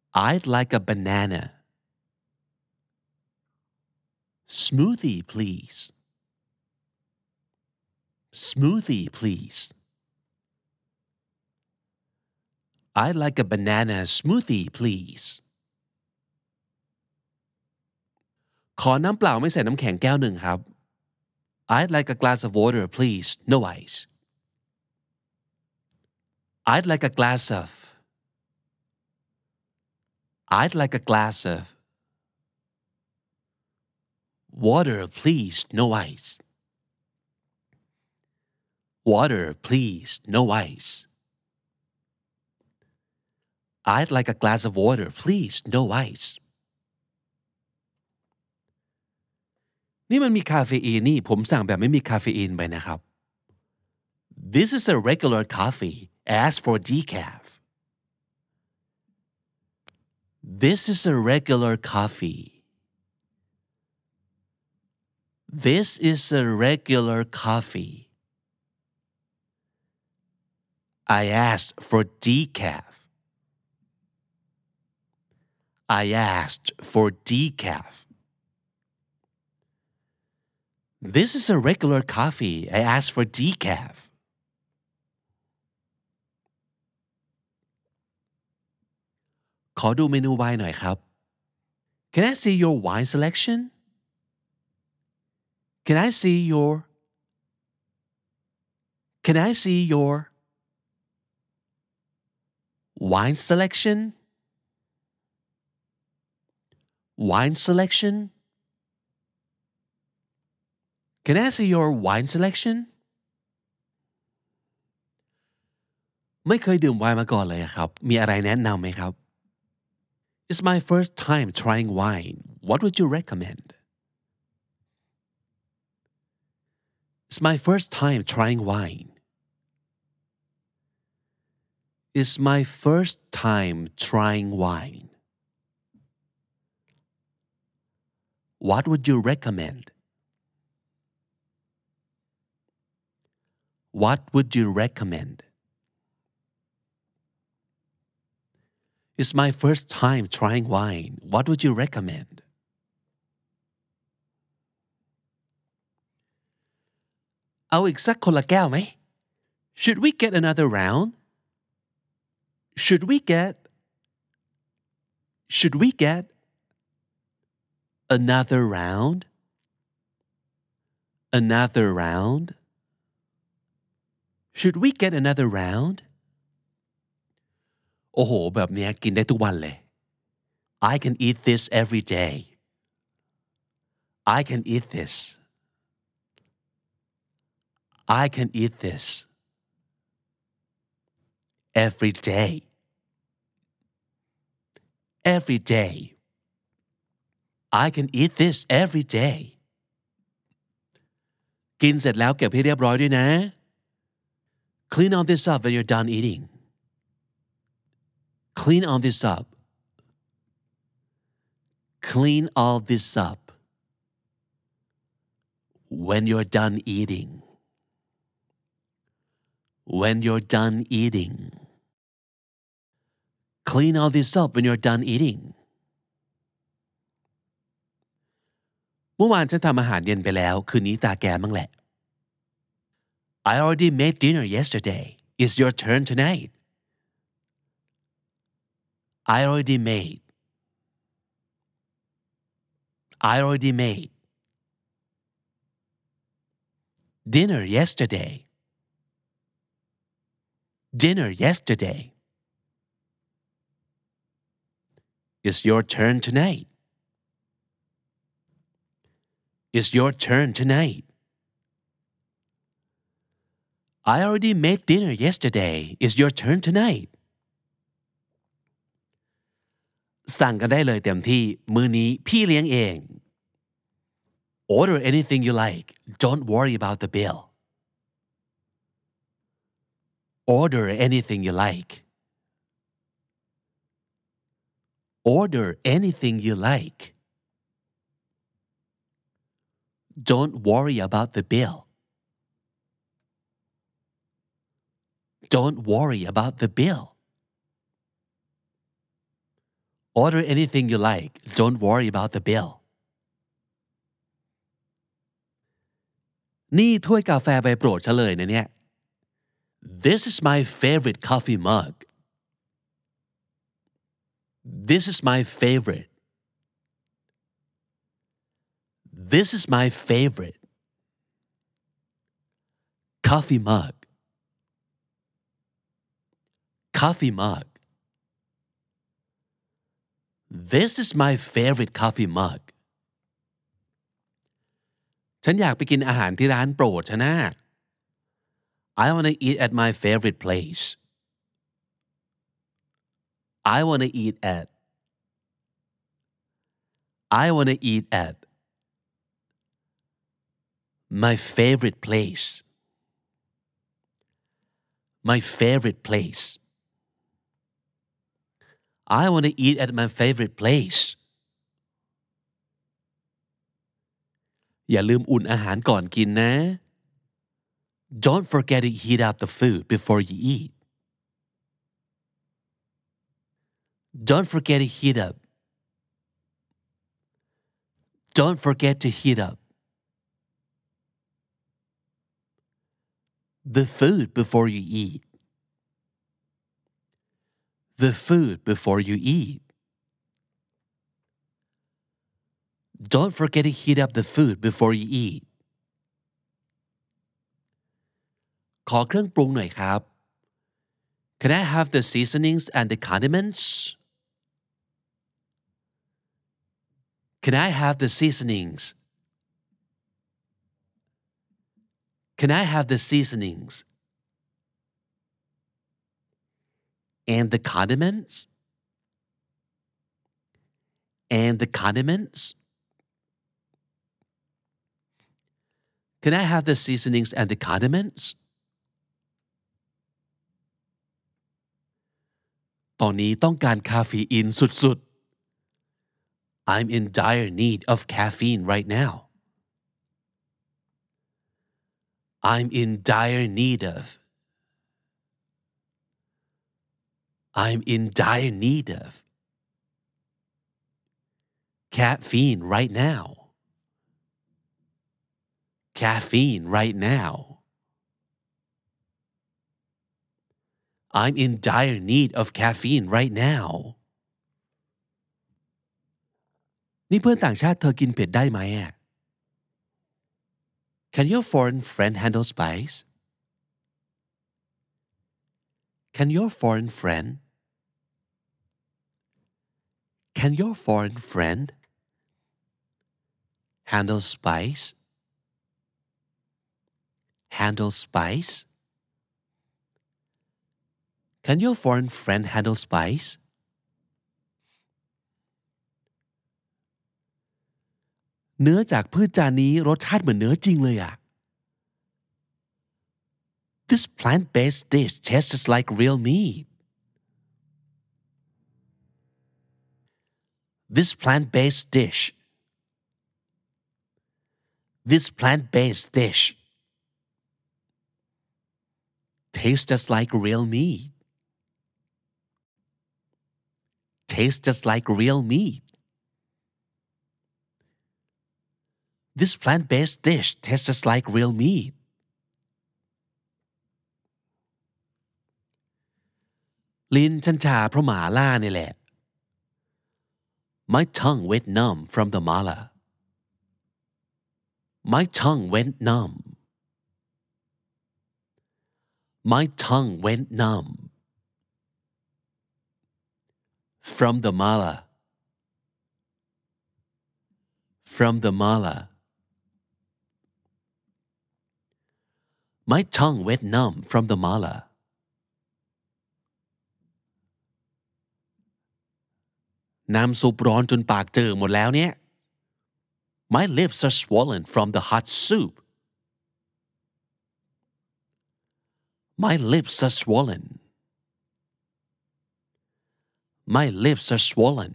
I'd like a banana smoothie please smoothie please I'd like a banana smoothie please ขอน้ำเปล่าไม่ใส่น้ำแข็งแก้วหนึ่งครับ I'd like a glass of water please no ice I'd like a glass of I'd like a glass of water please no ice water please no ice I'd like a glass of water please no ice นี่มันมีคาเฟอีนนี่ผมสั่งแบบไม่มีคาเฟอีนไปนะครับ This is a regular coffee ask for decaf This is a regular coffee This is a regular coffee I asked for decaf I asked for decaf This is a regular coffee I asked for decaf ขอดูเมนูไวน์หน่อยครับ Can I see your wine selection Can I see your Can I see your wine selection wine selection Can I see your wine selection ไม่เคยดื่มไวน์มาก่อนเลยครับมีอะไรแนะนำไหมครับ It's my first time trying wine what would you recommend It's my first time trying wine It's my first time trying wine What would you recommend What would you recommend It's my first time trying wine What would you recommend เอาอีกสักคนละแก้วไหม Should we get another round Should we get Should we get another round Another round Should we get another round โอ้โหแบบนี้กินได้ทุกวันเลย I can eat this every day I can eat this I can eat this every day every day I can eat this every day กินเสร็จแล้วเก็บให้เรียบร้อยด้วยนะ Clean all this up when you're done eating Clean all this up Clean all this up when you're done eating when you're done eating Clean all this up when you're done eating เมื่อวานฉันทำอาหารเย็นไปแล้วคืนนี้ตาแกมั้งแหละ I already made dinner yesterday It's your turn tonight I already made I already made dinner yesterday dinner yesterday It's your turn tonight It's your turn tonight I already made dinner yesterday It's your turn tonight สั่งกันได้เลยเต็มที่มื้อนี้พี่เลี้ยงเอง Order anything you like Don't worry about the bill Order anything you like Order anything you like Don't worry about the bill Don't worry about the bill order anything you like don't worry about the bill นี่ถ้วยกาแฟใบโปรดฉันเลยนะเนี่ย This is my favorite coffee mug This is my favorite This is my favorite coffee mug coffee mug This is my favorite coffee mug ฉันอยากไปกินอาหารที่ร้านโปรดฉันนะ I want to eat at my favorite place I want to eat at I want to eat at my favorite place my favorite place I want to eat at my favorite place อย่าลืมอุ่นอาหารก่อนกินนะ Don't forget to heat up the food before you eat Don't forget to heat up Don't forget to heat up the food before you eat the food before you eat Don't forget to heat up the food before you eat ขอเครื่องปรุงหน่อยครับ Can I have the seasonings and the condiments? Can I have the seasonings? Can I have the seasonings? And the condiments? And the condiments? Can I have the seasonings and the condiments? ตอนนี้ต้องการคาเฟอีนสุดๆ I'm in dire need of caffeine right now. I'm in dire need of I'm in dire need of caffeine right now. Caffeine right now. I'm in dire need of caffeine right now. นี่เพื่อนต่างชาติเธอกินเผ็ดได้ไหมอ่ะ Can your foreign friend handle spice? Can your foreign friend Can your foreign friend handle spice? Handle spice? Can your foreign friend handle spice? เนื้อจากพืชจานนี้รสชาติเหมือนเนื้อจริงเลยอะ This plant-based dish tastes like real meat. This plant-based dish. This plant-based dish tastes just like real meat. Tastes just like real meat. This plant-based dish tastes just like real meat. ลิ้นฉันชาเพราะหมาล่านี่แหละ My tongue went numb from the mala. My tongue went numb. My tongue went numb. From the mala. From the mala. My tongue went numb from the mala. น้ำซุปร้อนจนปากเจอหมดแล้วเนี่ย My lips are swollen from the hot soup. My lips are swollen. My lips are swollen.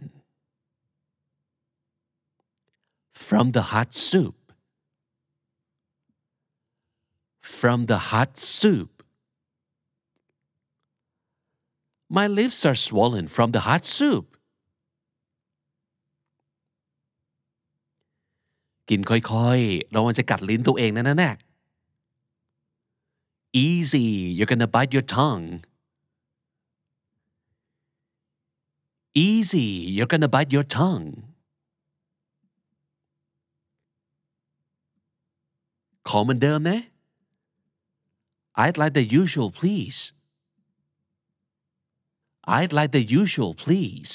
From the hot soup. From the hot soup. My lips are swollen from the hot soup. กินค่อยๆระวังจะกัดลิ้นตัวเองนะนั่นแหละ easy you're gonna bite your tongue easy you're gonna bite your tongue ขอเหมือนเดิมนะ I'd like the usual please I'd like the usual please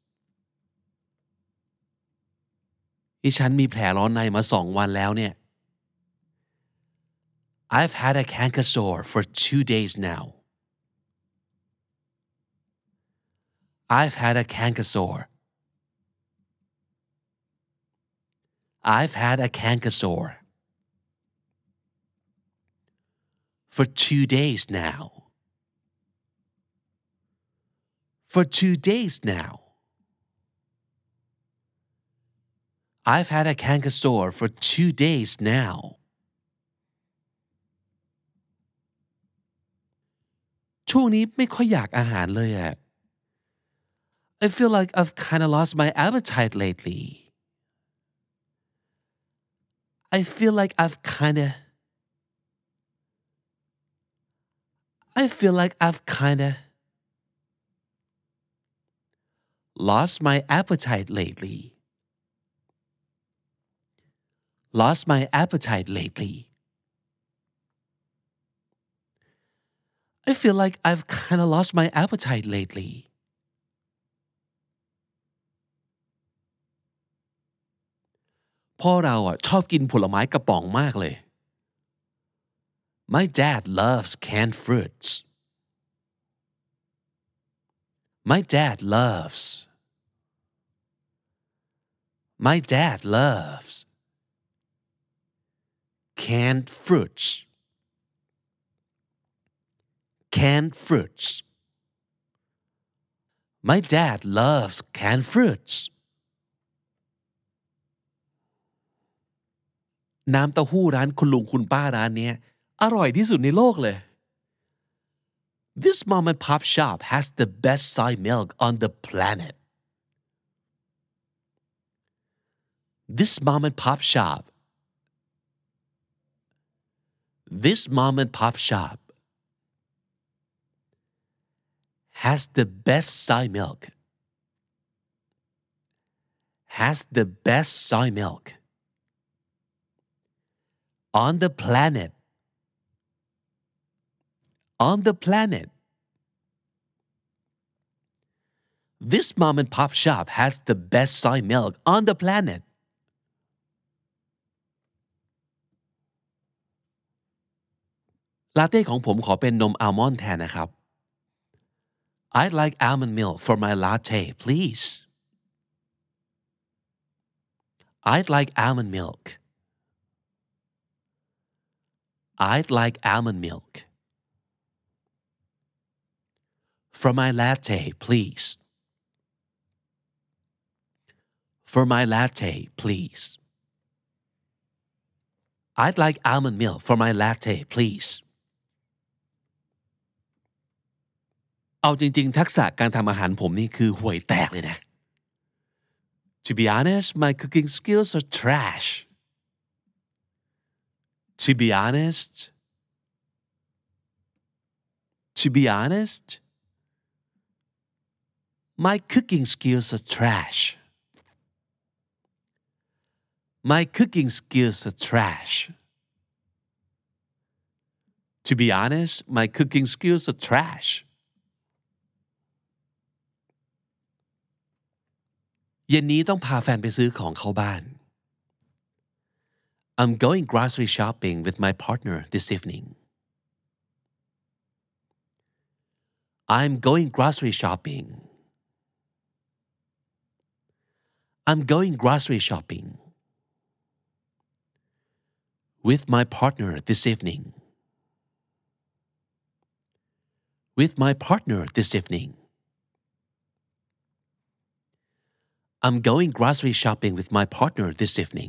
ที่ฉันมีแผลร้อนในมาสองวันแล้วเนี่ย I've had a canker sore for two days now I've had a canker sore I've had a canker sore for two days now for two days now I've had a canker sore for two days now ช่วงนี้ไม่ค่อยอยากอาหารเลยอะ I feel like I've kind of lost my appetite lately I feel like I've kind of I feel like I've kind of lost my appetite lately lost my appetite lately I feel like I've kind of lost my appetite lately พ่อเราอ่ะชอบกินผลไม้กระป๋องมากเลย My dad loves canned fruits My dad loves My dad loves canned fruits canned fruits My dad loves canned fruits น้ำเต้าหู้ร้านคุณลุงคุณป้าร้านนี้อร่อยที่สุดในโลกเลย This mom and pop shop has the best soy milk on the planet This mom and pop shop This mom and pop shop has the best soy milk has the best soy milk on the planet on the planet This mom and pop shop has the best soy milk on the planet ลาเต้ของผมขอเป็นนมอัลมอนด์แทนนะครับ I'd like almond milk for my latte please I'd like almond milk I'd like almond milk for my latte please for my latte please I'd like almond milk for my latte please เอาจริงๆทักษะการทำอาหารผมนี่คือห่วยแตกเลยนะ To be honest my cooking skills are trash To be honest To be honest My cooking skills are trash My cooking skills are trash To be honest my cooking skills are trash เย็นนี้ต้องพาแฟนไปซื้อของเข้าบ้าน I'm going grocery shopping with my partner this evening I'm going grocery shopping I'm going grocery shopping with my partner this evening with my partner this evening I'm going grocery shopping with my partner this evening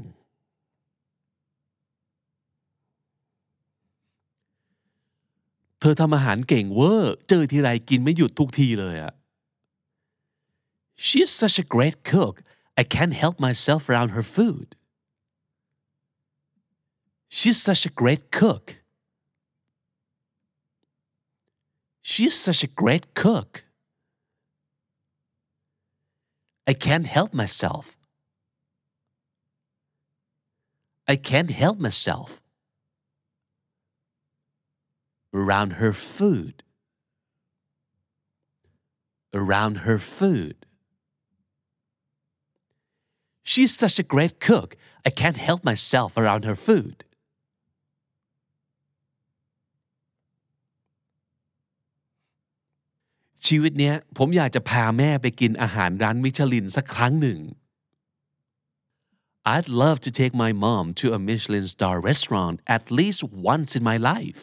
เธอทำอาหารเก่งเวอร์เจอทีไรกินไม่หยุดทุกทีเลยอะ She's such a great cook I can't help myself around her food She's such a great cook. She's such a great cook. I can't help myself. I can't help myself around her food. Around her food. She's such a great cook. I can't help myself around her food. ชีวิตเนี้ยผมอยากจะพาแม่ไปกินอาหารร้านมิชลินสักครั้งหนึ่ง I'd love to take my mom to a Michelin star restaurant at least once in my life.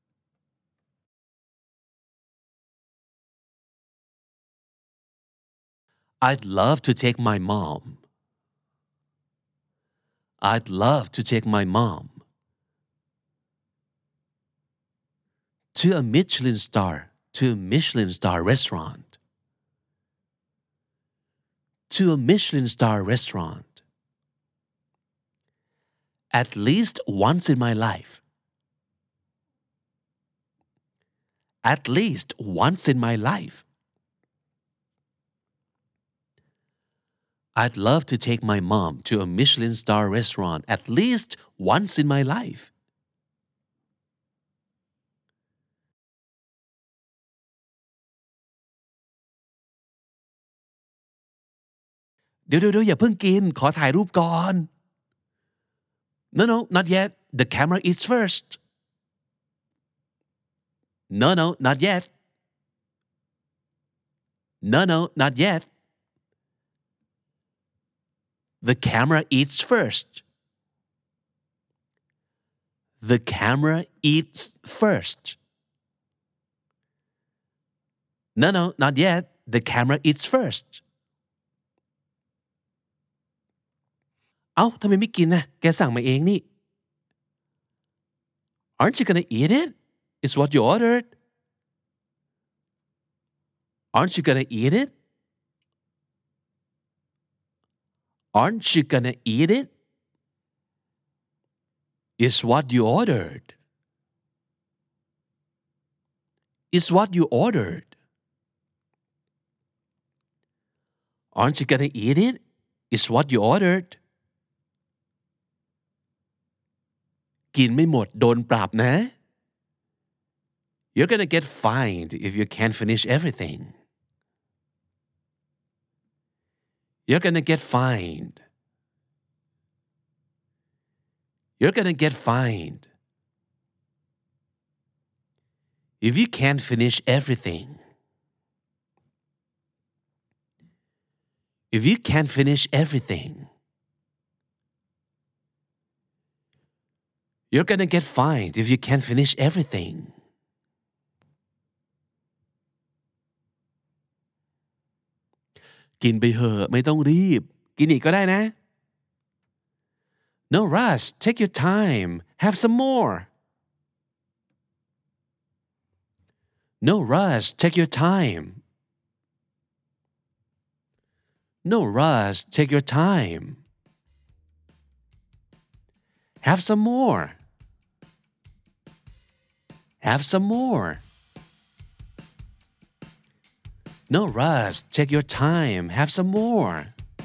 I'd love to take my mom. I'd love to take my mom to a Michelin star to a Michelin star restaurant. To a Michelin star restaurant. At least once in my life. At least once in my life. I'd love to take my mom to a Michelin star restaurant at least once in my life. เดี๋ยวเดี๋ยวอย่าเพิ่งกินขอถ่ายรูปก่อน No no not yet the camera eats first No no not yet No no not yet The camera eats first The camera eats first No no not yet The camera eats firstเอ้าทำไมไม่กินนะแกสั่งมาเองนี่ Aren't you gonna eat it? It's what you ordered. Aren't you gonna eat it? Aren't you gonna eat it? It's what you ordered. It's what you ordered. Aren't you gonna eat it? It's what you ordered. กินไม่หมดโดนปรับนะ You're gonna get fined if you can't finish everything. You're gonna get fined. You're gonna get fined. If you can't finish everything. If you can't finish everything. You're gonna get fined if you can't finish everything. กินไปเหอะไม่ต้องรีบกินอีกก็ได้นะ No rush take your time have some more No rush take your time No rush take your time Have some more Have some more No rush take your time have some more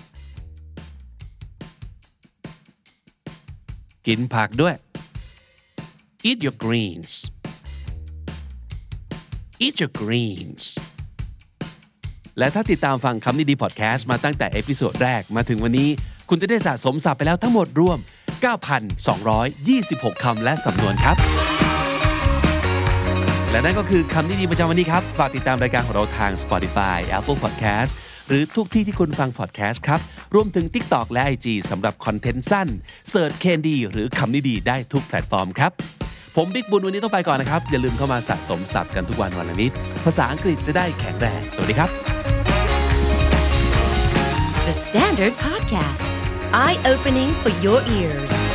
กินผักด้วย Eat your greens Eat your greens และถ้าติดตามฟังคำนี้ดีพอดแคสต์มาตั้งแต่เอพิโซดแรกมาถึงวันนี้คุณจะได้สะสมศัพท์ไปแล้วทั้งหมดรวม เก้าพันสองร้อยยี่สิบหก คำและสำนวนครับและนั่นก็คือคำนี้ดีประจำวันนี้ครับฝากติดตามรายการของเราทาง Spotify Apple Podcast หรือทุกที่ที่คุณฟัง podcast ครับรวมถึง TikTok และ ไอ จี สำหรับคอนเทนต์สั้นเสิร์ช เคน ดี หรือคำนี้ดีได้ทุกแพลตฟอร์มครับผมบิ๊กบุญวันนี้ต้องไปก่อนนะครับอย่าลืมเข้ามาสะสมศัพท์กันทุกวันวันละนิดภาษาอังกฤษจะได้แข็งแรงสวัสดีครับ The Standard Podcast Eye Opening for Your Ears